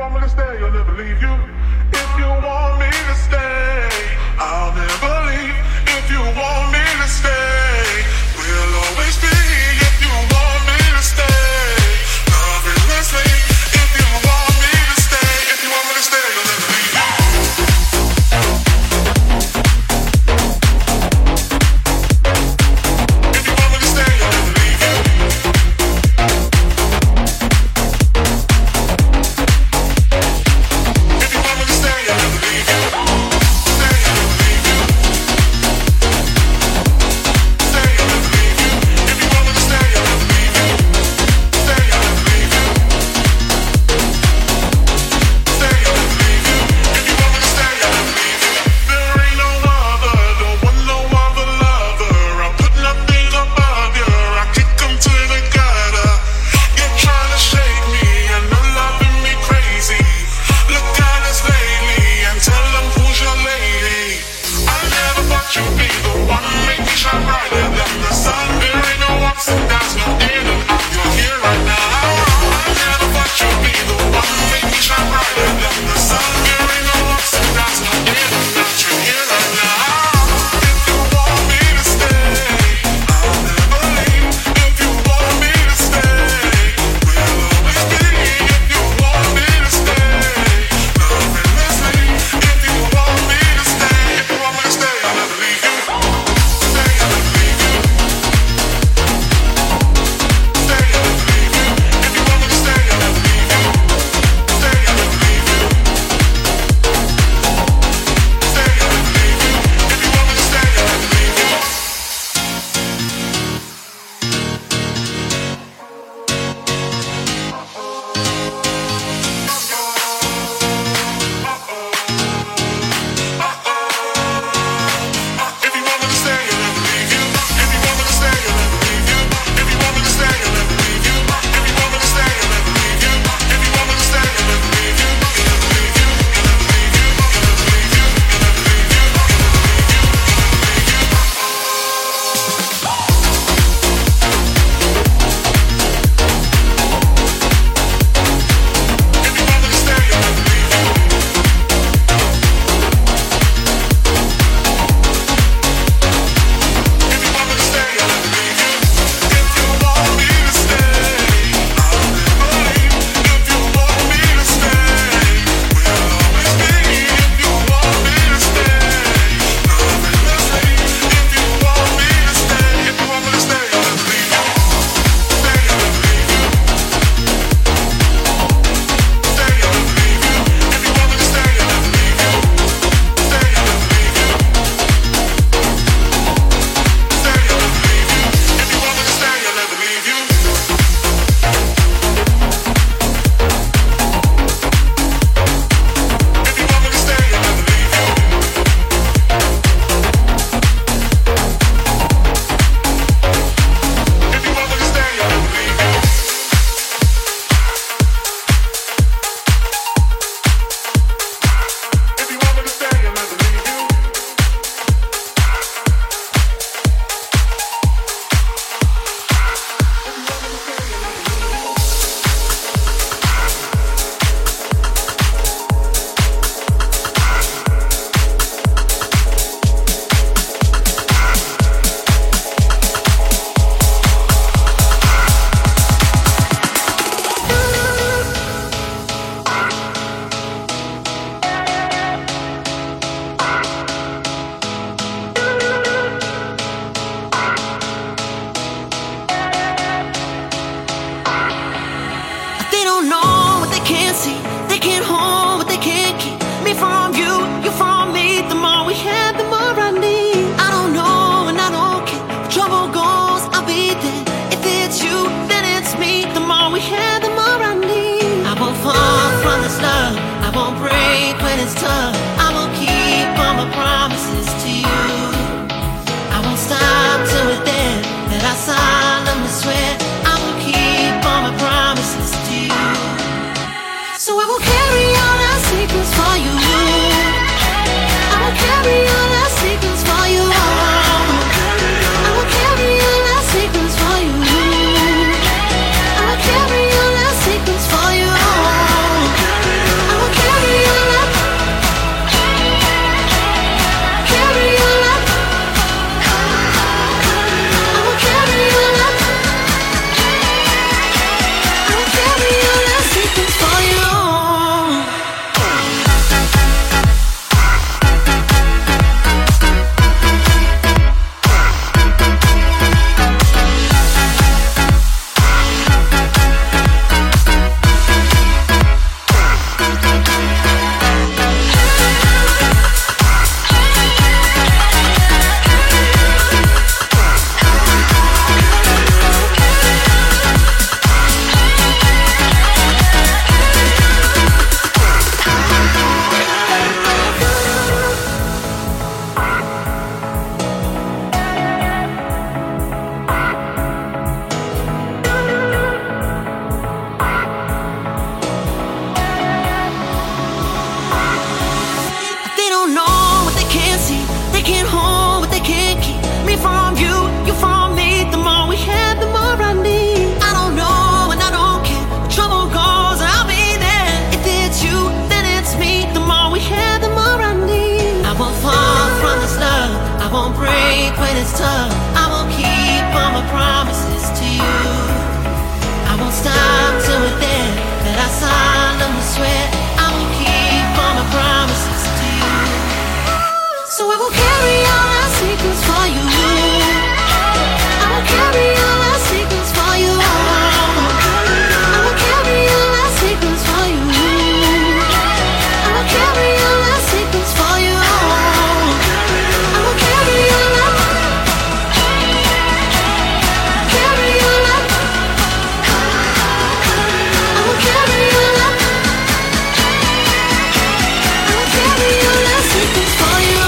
want me to stay, I'll never leave you. If you want me to stay, I'll never leave. If you want me to stay, we'll always be. If you want me to stay, love endlessly. If you want me to stay, if you want me to stay, I'll never leave you. If you want me to stay, I'll never leave you. If you want me to stay, I'll never leave you. Stay, I'll never leave you. Stay, I'll never leave you. If you want me to stay, I'll never leave you. Stay, I'll never leave you. Stay, I'll never leave you. If you want me to stay, I'll never leave you. There ain't no other, don't want no other lover. I put nothing above you. I kick 'em to the gutter. You're trying to shake me and you're loving me crazy. Look at us lately and tell them who's your lady. I never thought you'd be the one make me shine brighter than the sun. There ain't no ups and downs, no in and out. You're here right now. I never thought you'd be the one make me shine brighter than the sun. There ain't no ups and downs, no in and out. You're here right now. If you want me to stay, I'll never leave. If you want me to stay, we'll always be. If you want me to stay, love endlessly. If you want me to stay, if you want me to stay, I'll never leave you. Stay, I'll never leave you. Stay, I'll never leave you. If you want me to stay, I'll never leave you. Stay, I'll never leave you. Stay, I'll never leave you. If you want me to stay, I'll never leave you. If you want me to stay, I'll never leave you. If you want me to stay, I'll never leave you. If you want me to stay, I'll never leave you. If you want me to stay, I'll never leave you. If you want me to stay, I'll never leave you. I'll never leave you. I'll never leave you. I'll never leave you. I'll never leave you. I'll never leave you. If you want me to stay, I'll never leave you. If you want me to stay, I'll never leave you. If you want me to stay, I'll never leave. If you want me to stay, we'll always be. If you want me to stay, love endlessly. If you want me to stay, if you want me to stay, I'll never leave you. Stay, I'll never leave you. Stay, I'll never leave you. If you want me to stay, I'll never leave you. Stay, I'll never leave you. Stay, I'll never leave you. If you want me to stay, I'll never leave you. If you want me to stay, I'll never leave you. If you want me to stay, I'll never leave you. If you want me to stay, I'll never leave you. They don't know what they can't see. They can't hold what they can't keep. Me from you, you from me. The more we have, the more I need. I don't know and I don't care. Where trouble goes, I'll be there. If it's you, then it's me. The more we have, the more I need. I won't fall from this love. I won't break when it's tough. I will keep all my promises to you. I won't stop till we're there. That I solemnly swear I will keep all my promises to you. So I will carry all our secrets for you. I will carry all our secrets for you. I will carry all our secrets for you. I will carry all our secrets for you. it's tough, I will keep all my promises to you. I won't stop till we're there, that I solemnly swear I will keep all my promises to you. So I will carry all my secrets for you. I will carry all my secrets for you. I will carry all my secrets for you. I will carry all my secrets for you. I will carry all my, carry all my, I will carry all my, I will carry all my secrets for you.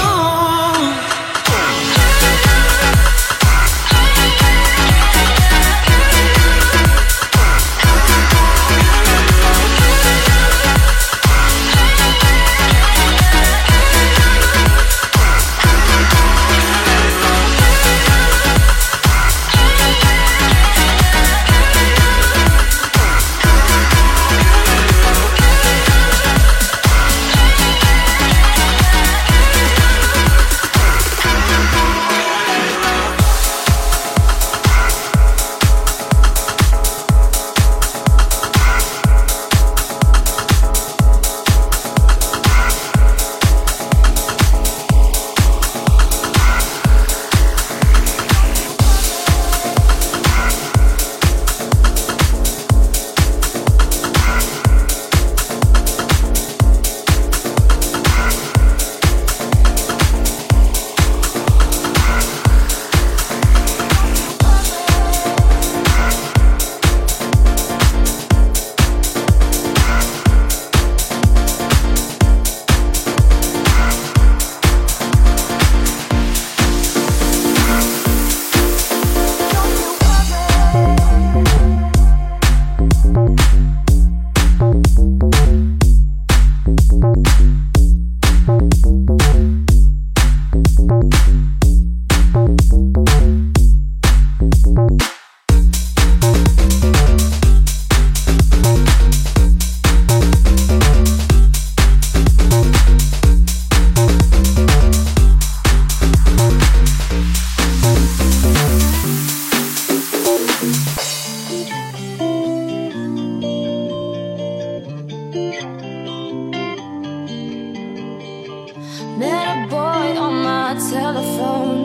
Met a boy on my telephone.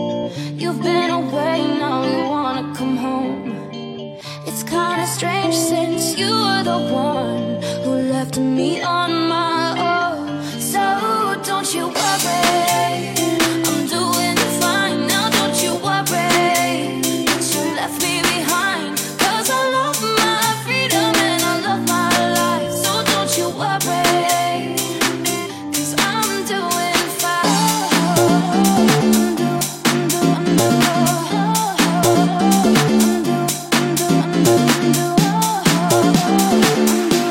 You've been away, now you wanna come home. It's kinda strange since you were the one who left me on my own. So don't you worry, I'm doing fine now, don't you worry that you left me behind. 'Cause I love my freedom and I love my life. So don't you worry, 'cause I'm doing fine.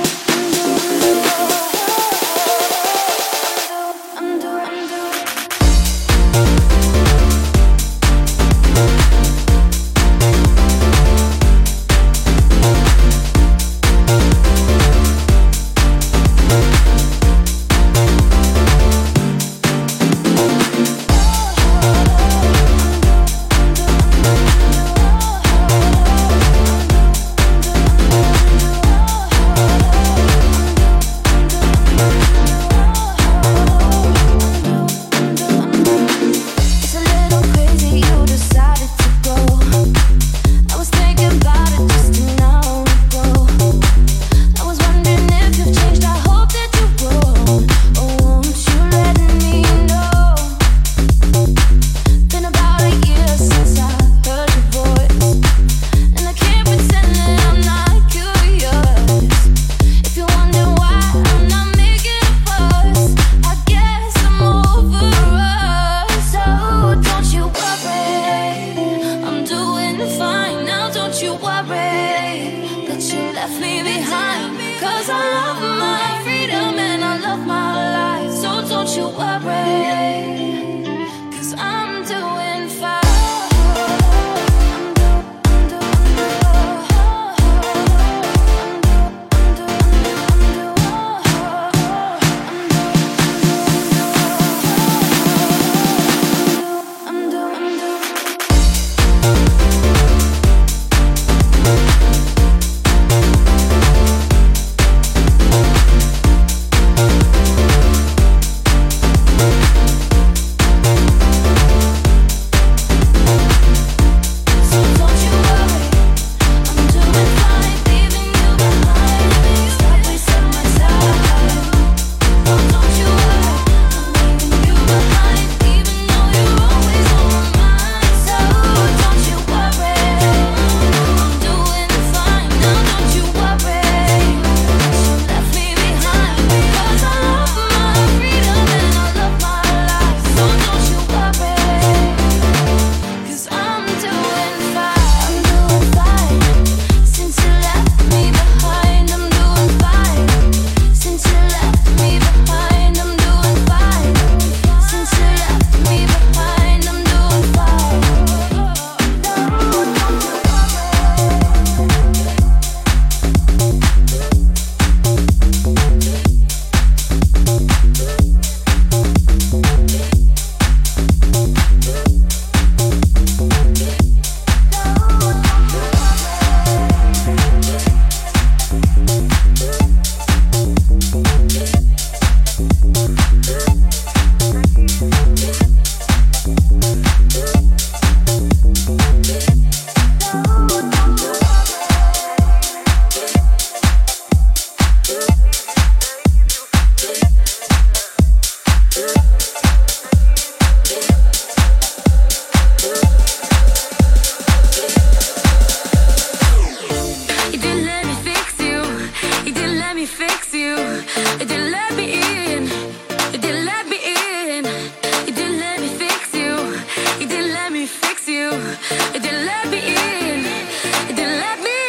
You didn't let me in. You didn't let me in. You didn't let me fix you. You didn't let me fix you. You didn't let me in. You didn't let me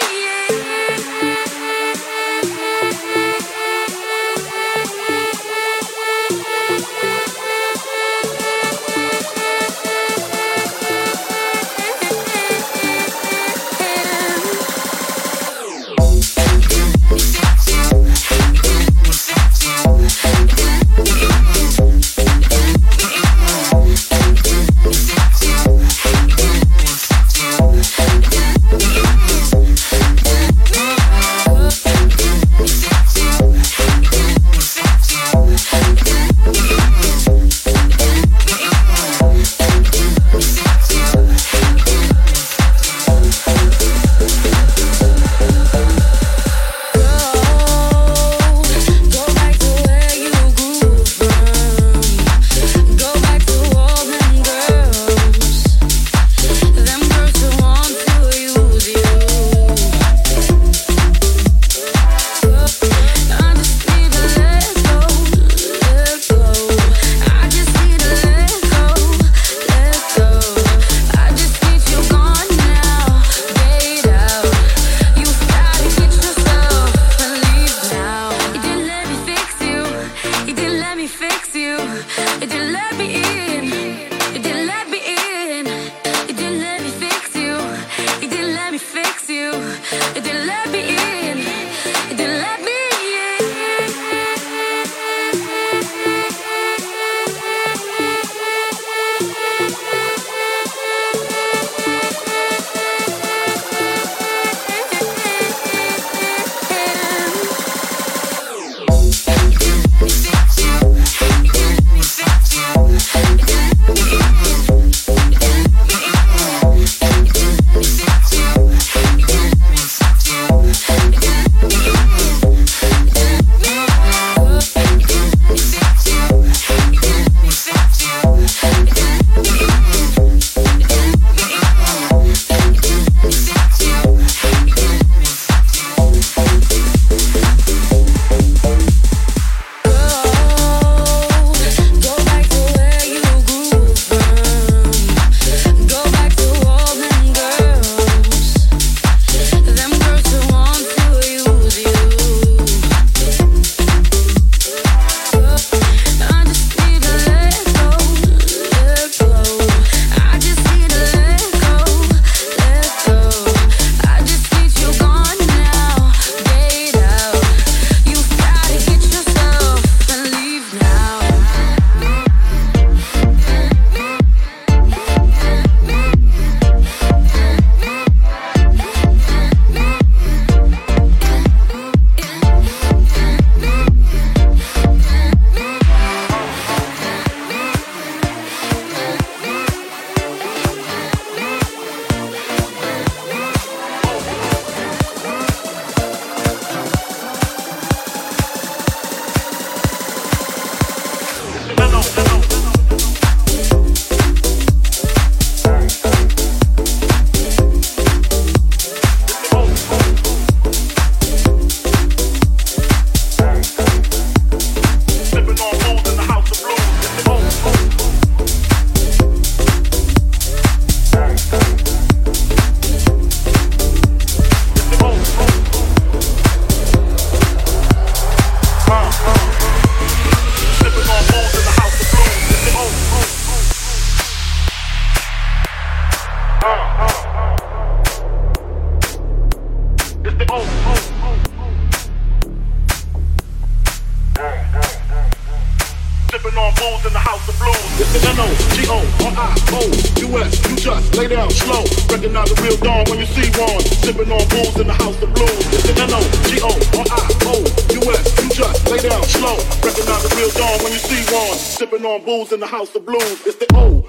booze in the house of blues. It's the O.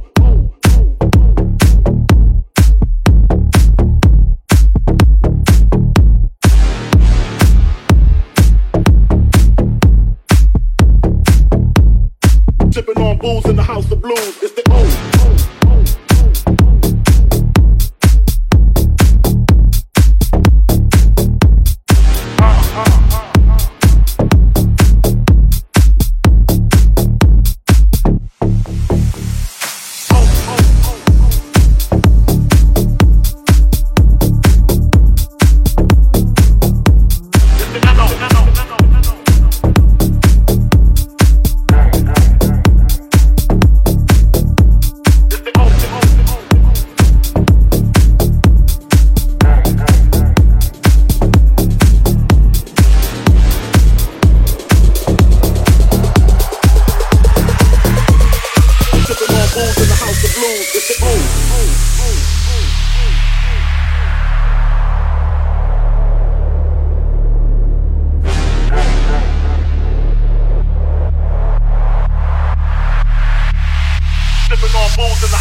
Sipping on booze in the house of blues. It's the O.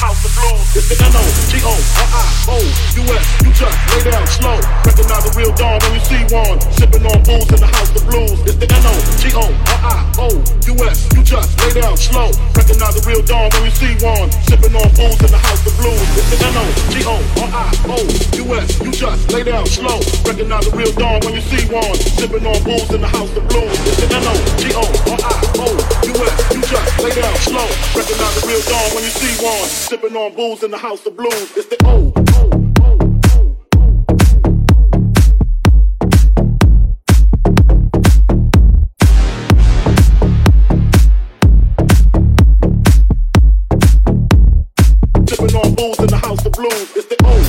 house of blues. It's the N-O-G-O-R-I-O-U-S. You just lay down slow. Recognize a real dawn when you see one. Sipping on booze in the house of blues. It's the N-O-G-O-R-I-O-U-S. You just lay down slow. Recognize a real dawn when you see one. Sipping on booze in the house of blues. It's the N-O-G-O-R-I-O-U-S. You just lay down slow. Recognize a real dawn when you see one. Sipping on booze in the house of blues. It's the N-O-G-O-R-I-O-U-S. You just lay down slow. Recognize a real dawn when you see one. Sipping on booze in the house of blues. It's the O. Sipping on booze in the house of blues. It's the O.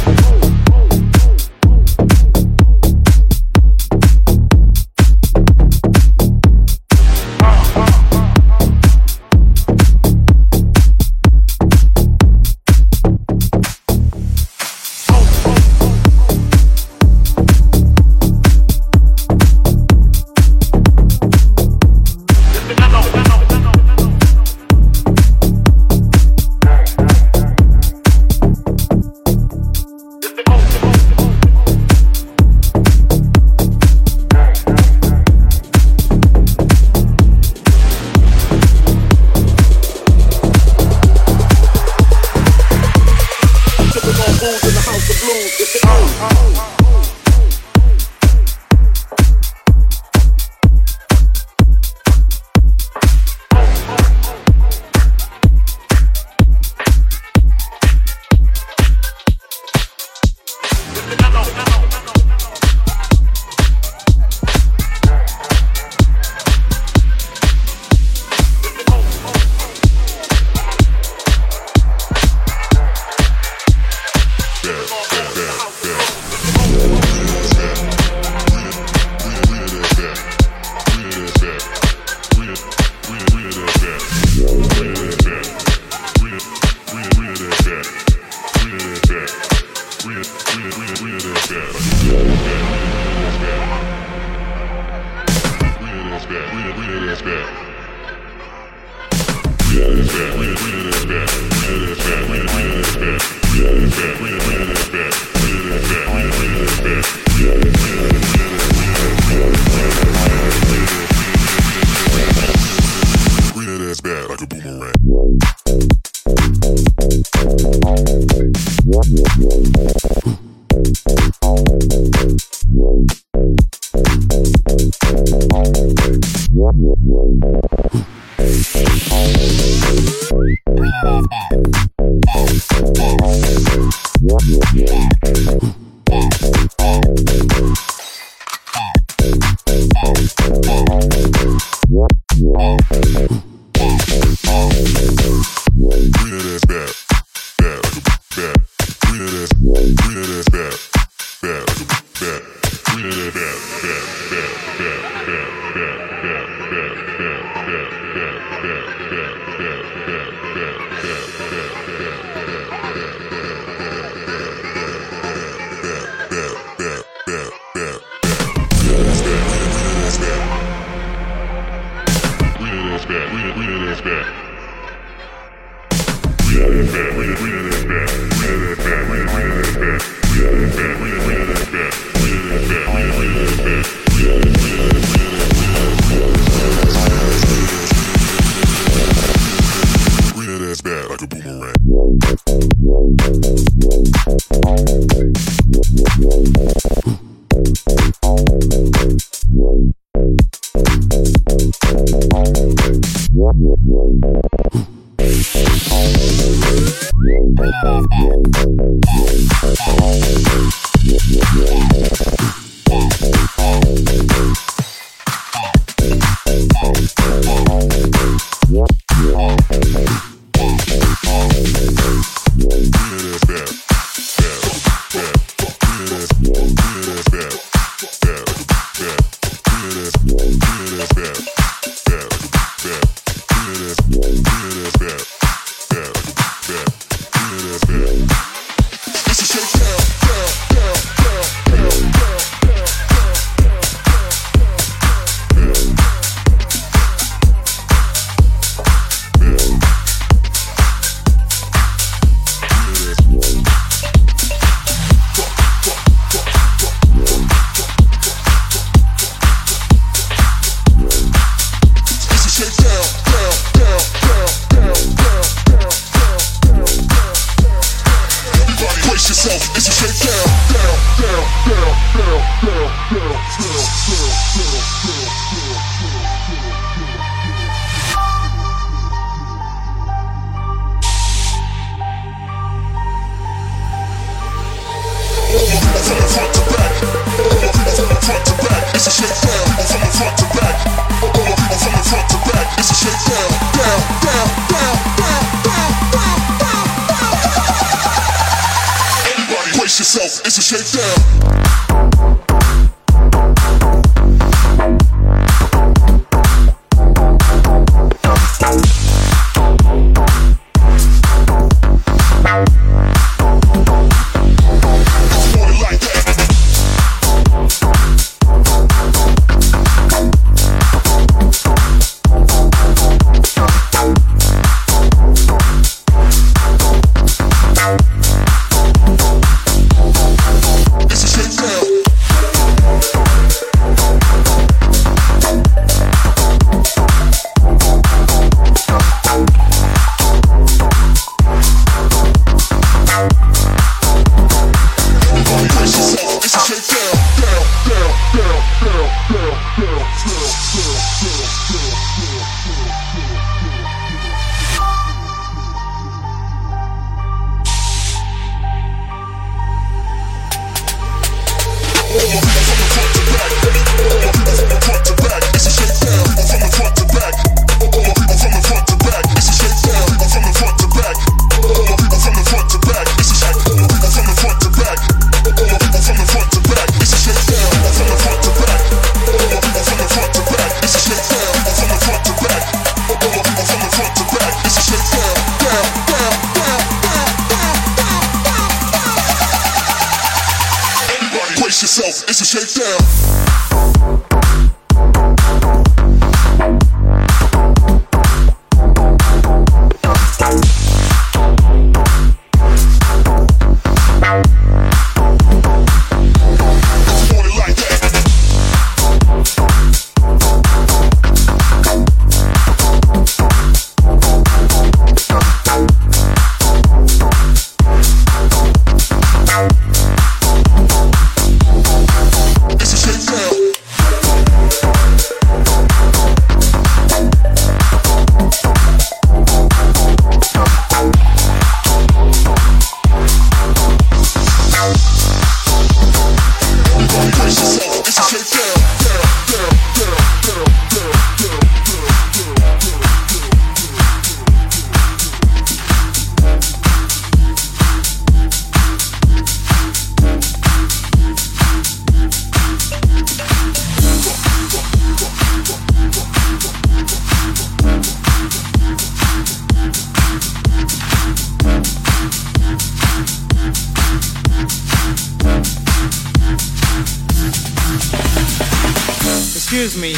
Excuse me.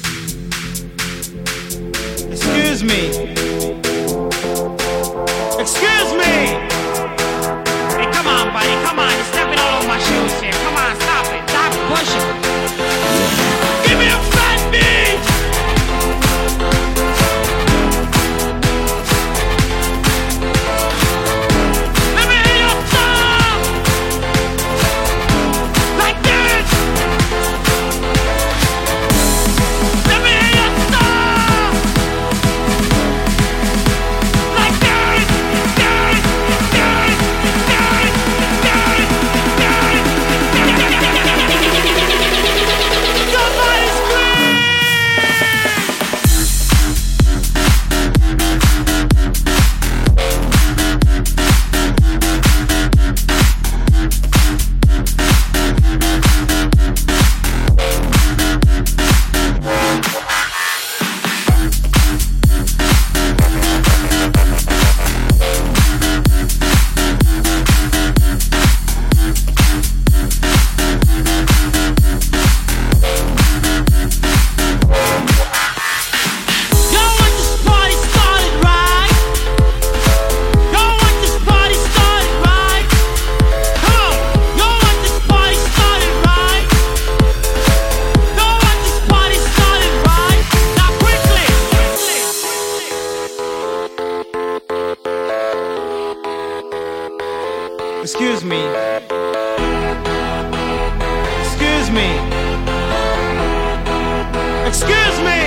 Excuse me. Excuse me! Hey, come on, buddy, come on. You're stepping all over my shoes here. Come on, stop it. Stop pushing. Give me a fat beat! Let me hear your tongue! Like this! Let me hear your tongue! Like this! Somebody scream! Y'all want this party started right? Y'all want this party started right? Come on! Y'all want this party started right? Y'all want this party started right? Now quickly! Excuse me. Excuse me. Excuse me!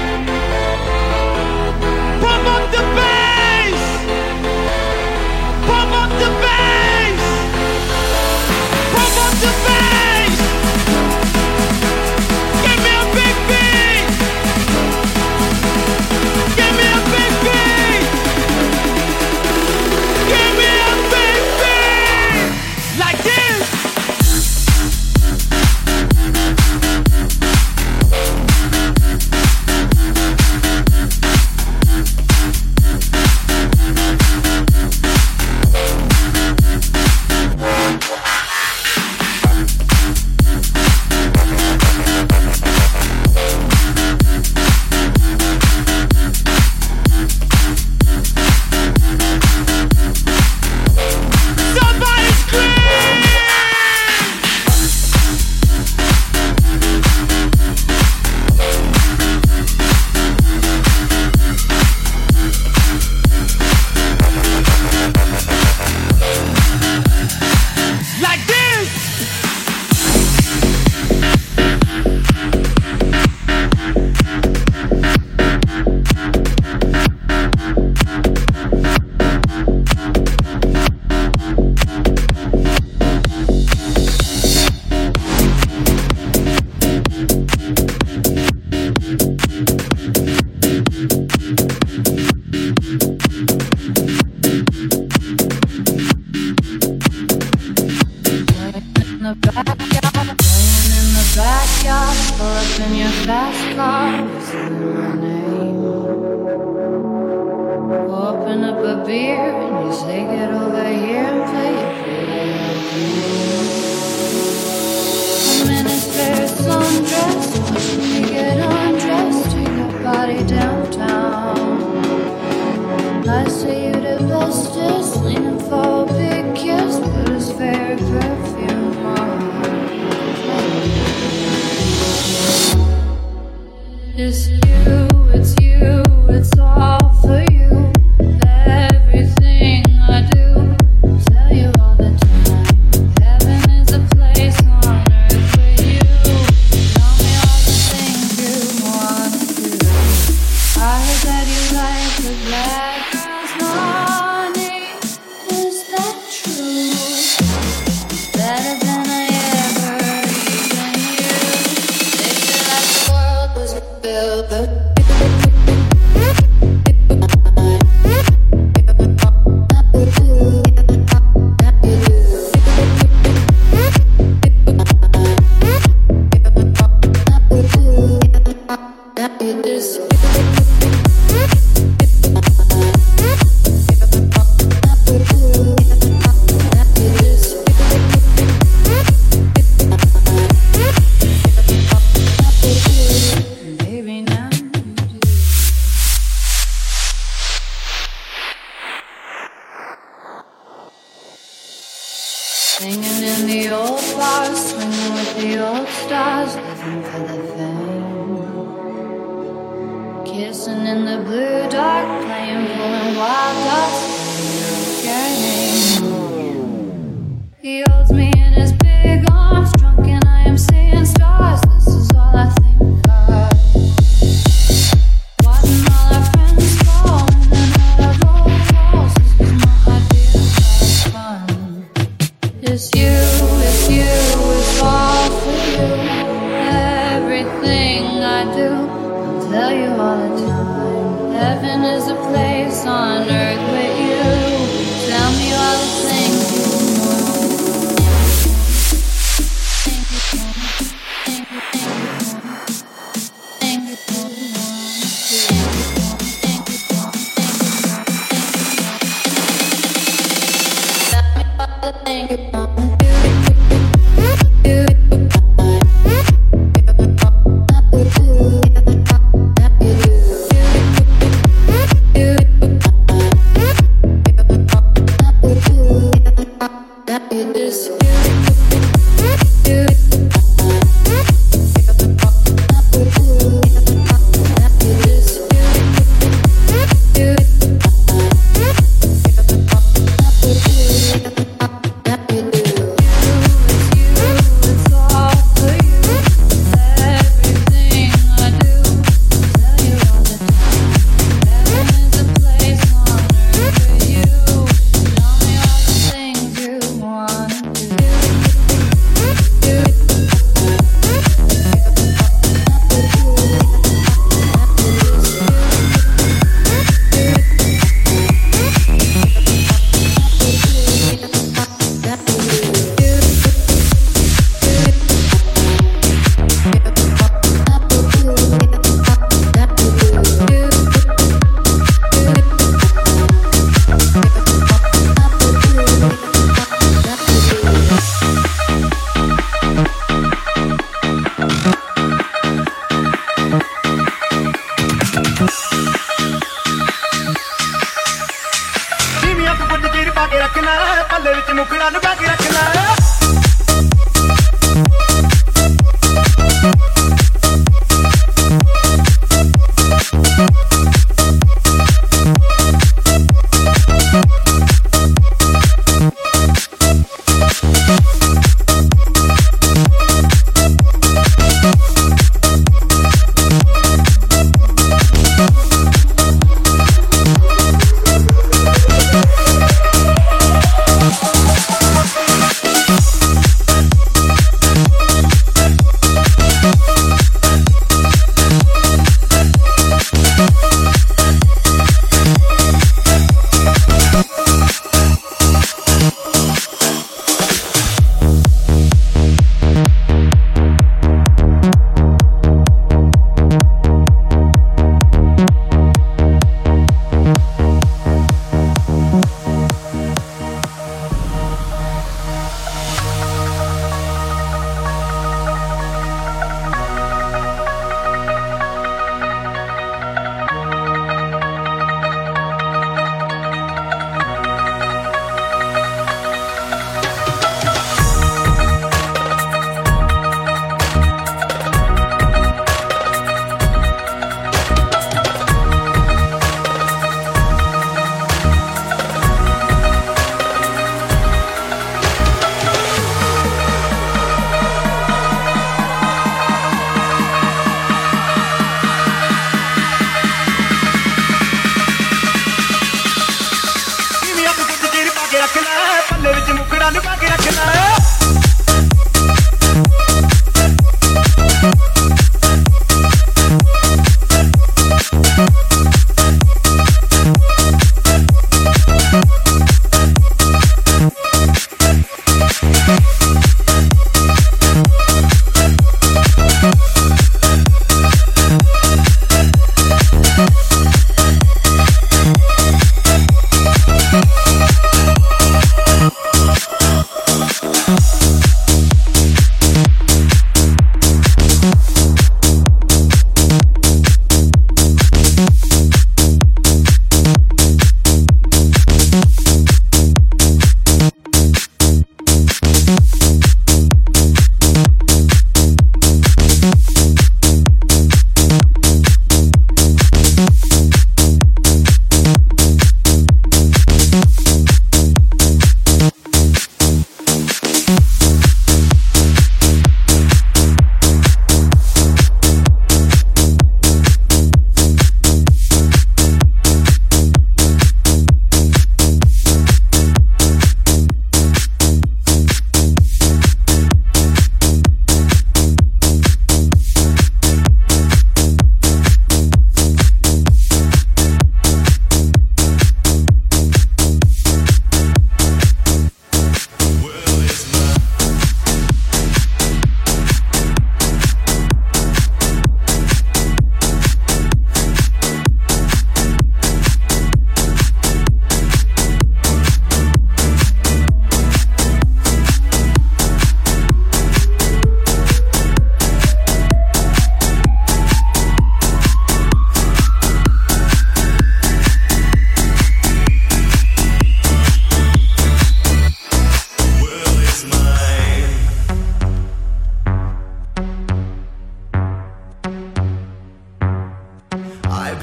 Pump up the bass! Pump up the bass! Pump up the bass! Give me a big beat! Give me a big beat! Give me a big beat! Like this! Somebody scream! Like this! In the backyard, playing in the backyard, pull up in your fast car, whistling my name. Open up a beer and you say get over here and play a video game. I'm in his fair sundress, watching me get undressed, take your body downtown. I say you the bestest, leaning for a big kiss, put his fair perfume on. It's you, it's all for you. Everything I do, tell you all the time. Heaven is a place on earth with you. Tell me all the things you wanna do. I heard that you like the black girls, honey. Is that true? Better than I ever even knew. They said that the world was built, but it is. Kissing in the blue dark, playing, pulling wild dots. Your name. He holds me in his big arms, drunk, and I am seeing stars. This is all I think of. Watching all our friends fall in and out of old walls. This is my idea of fun. It's you, it's all for you. Everything I do, I'll tell you all the time. Heaven is a place on earth with you. Tell me all the things you want. Tell me all the things you want.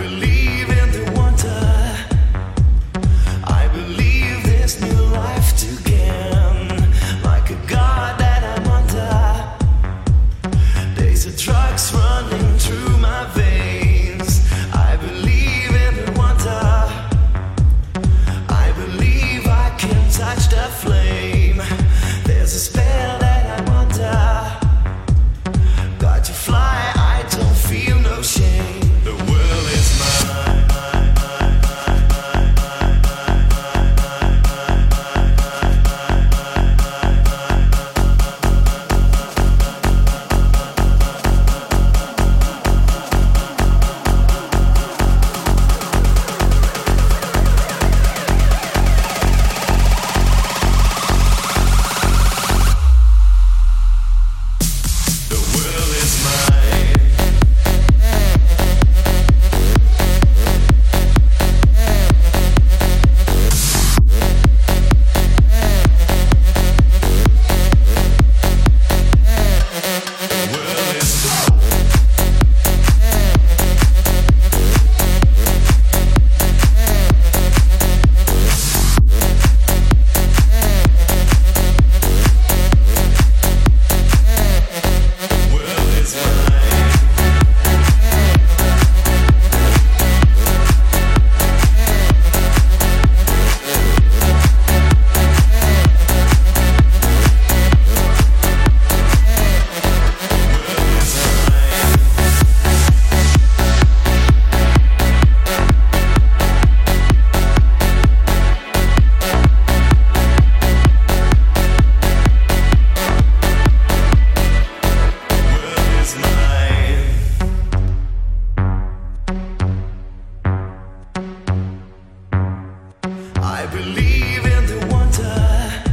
believe in the wonder. I believe this new life to gain. Like a god that I'm under. Days of drugs running through my veins. I believe in the wonder. I believe I can touch the flame. There's a spell that I'm under. Got to fly, I don't feel no shame. The world is mine. The world is mine. The world is The world is mine. I believe in the wonder.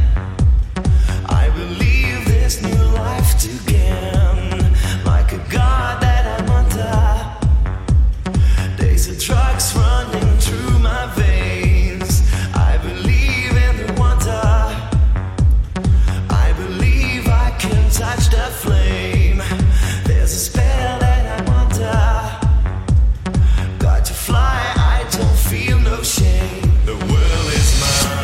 I believe this new life to gain. Like a god that I'm under. Days of drugs running through my veins. I believe in the wonder. I believe I can touch the flame. There's a spell that I'm under. Got to fly, I don't feel no shame. The world is mine.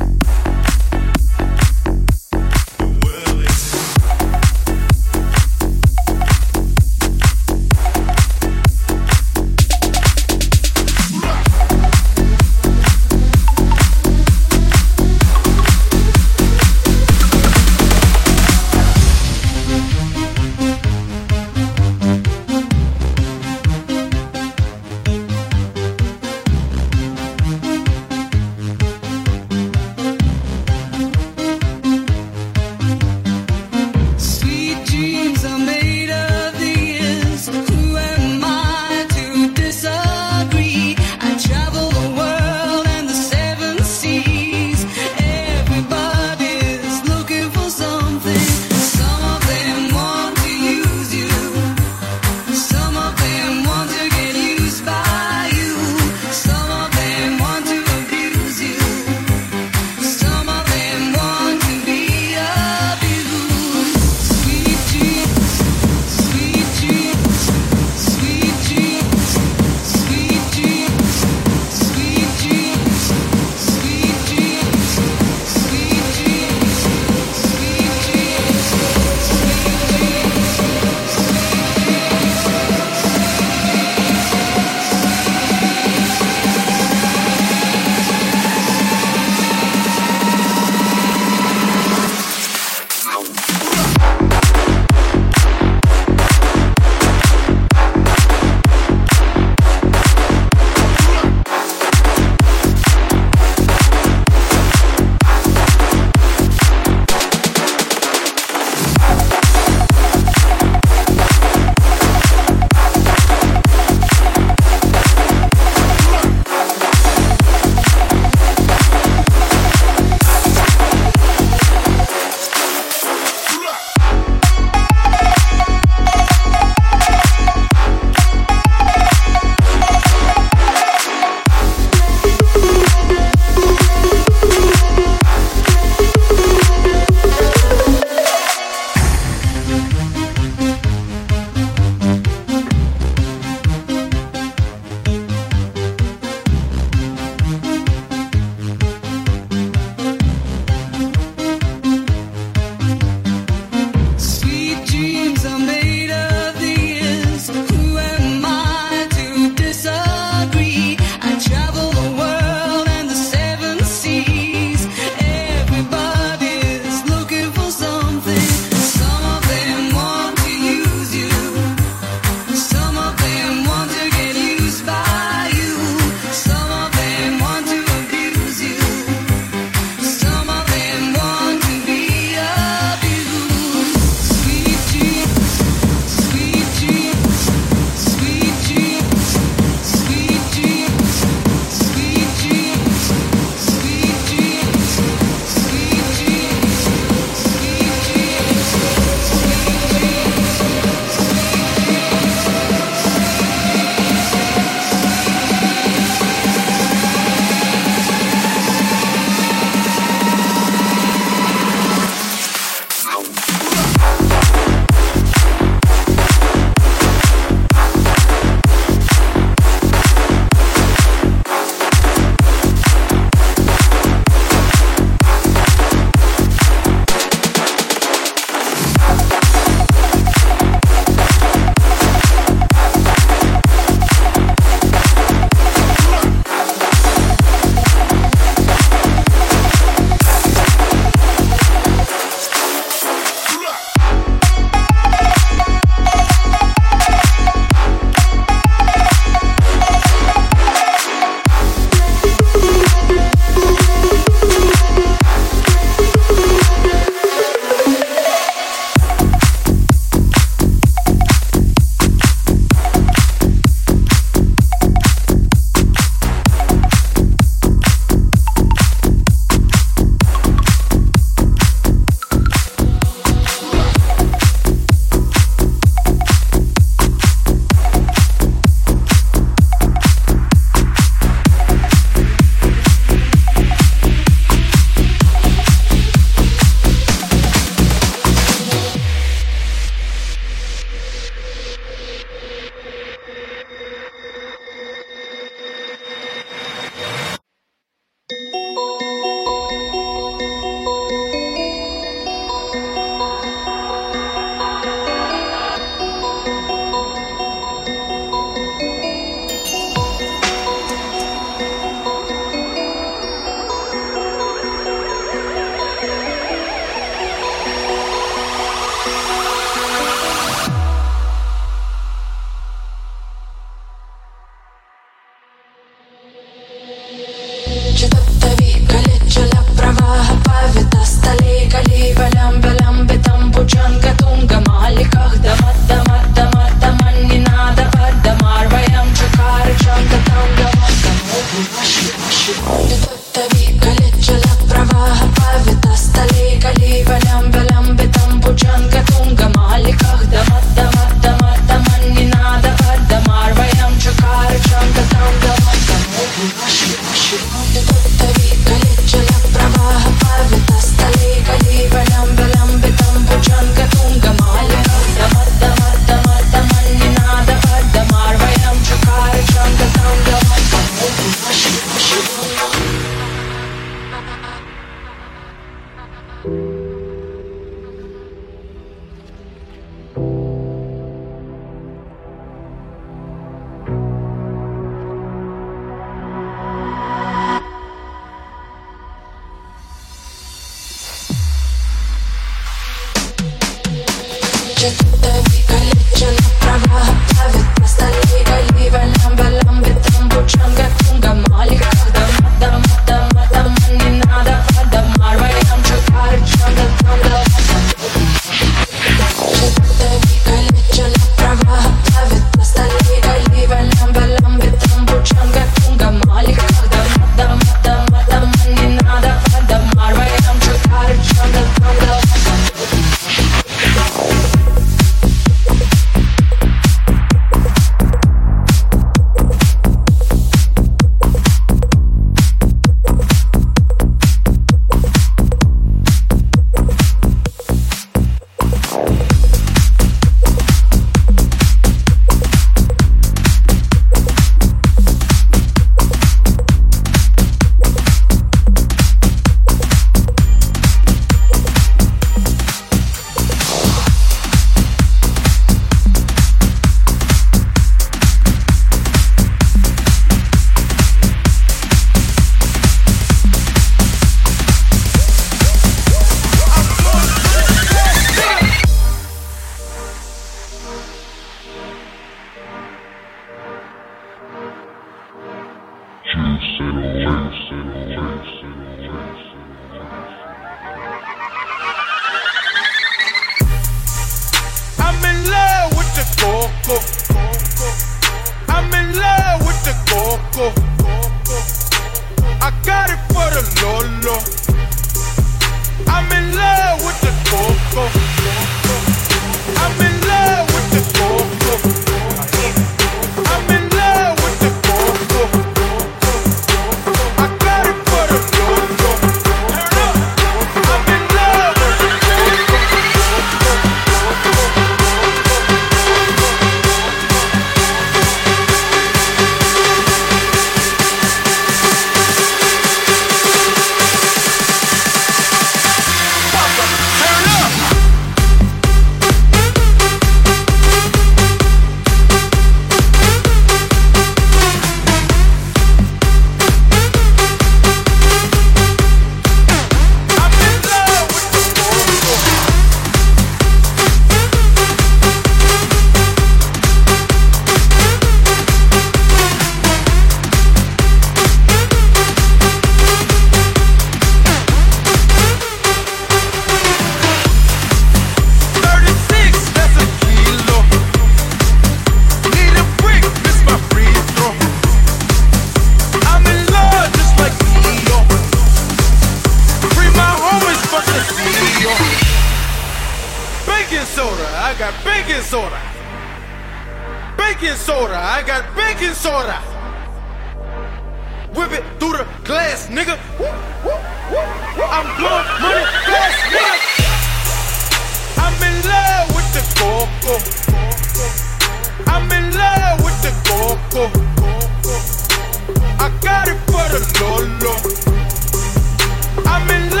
I'm in love.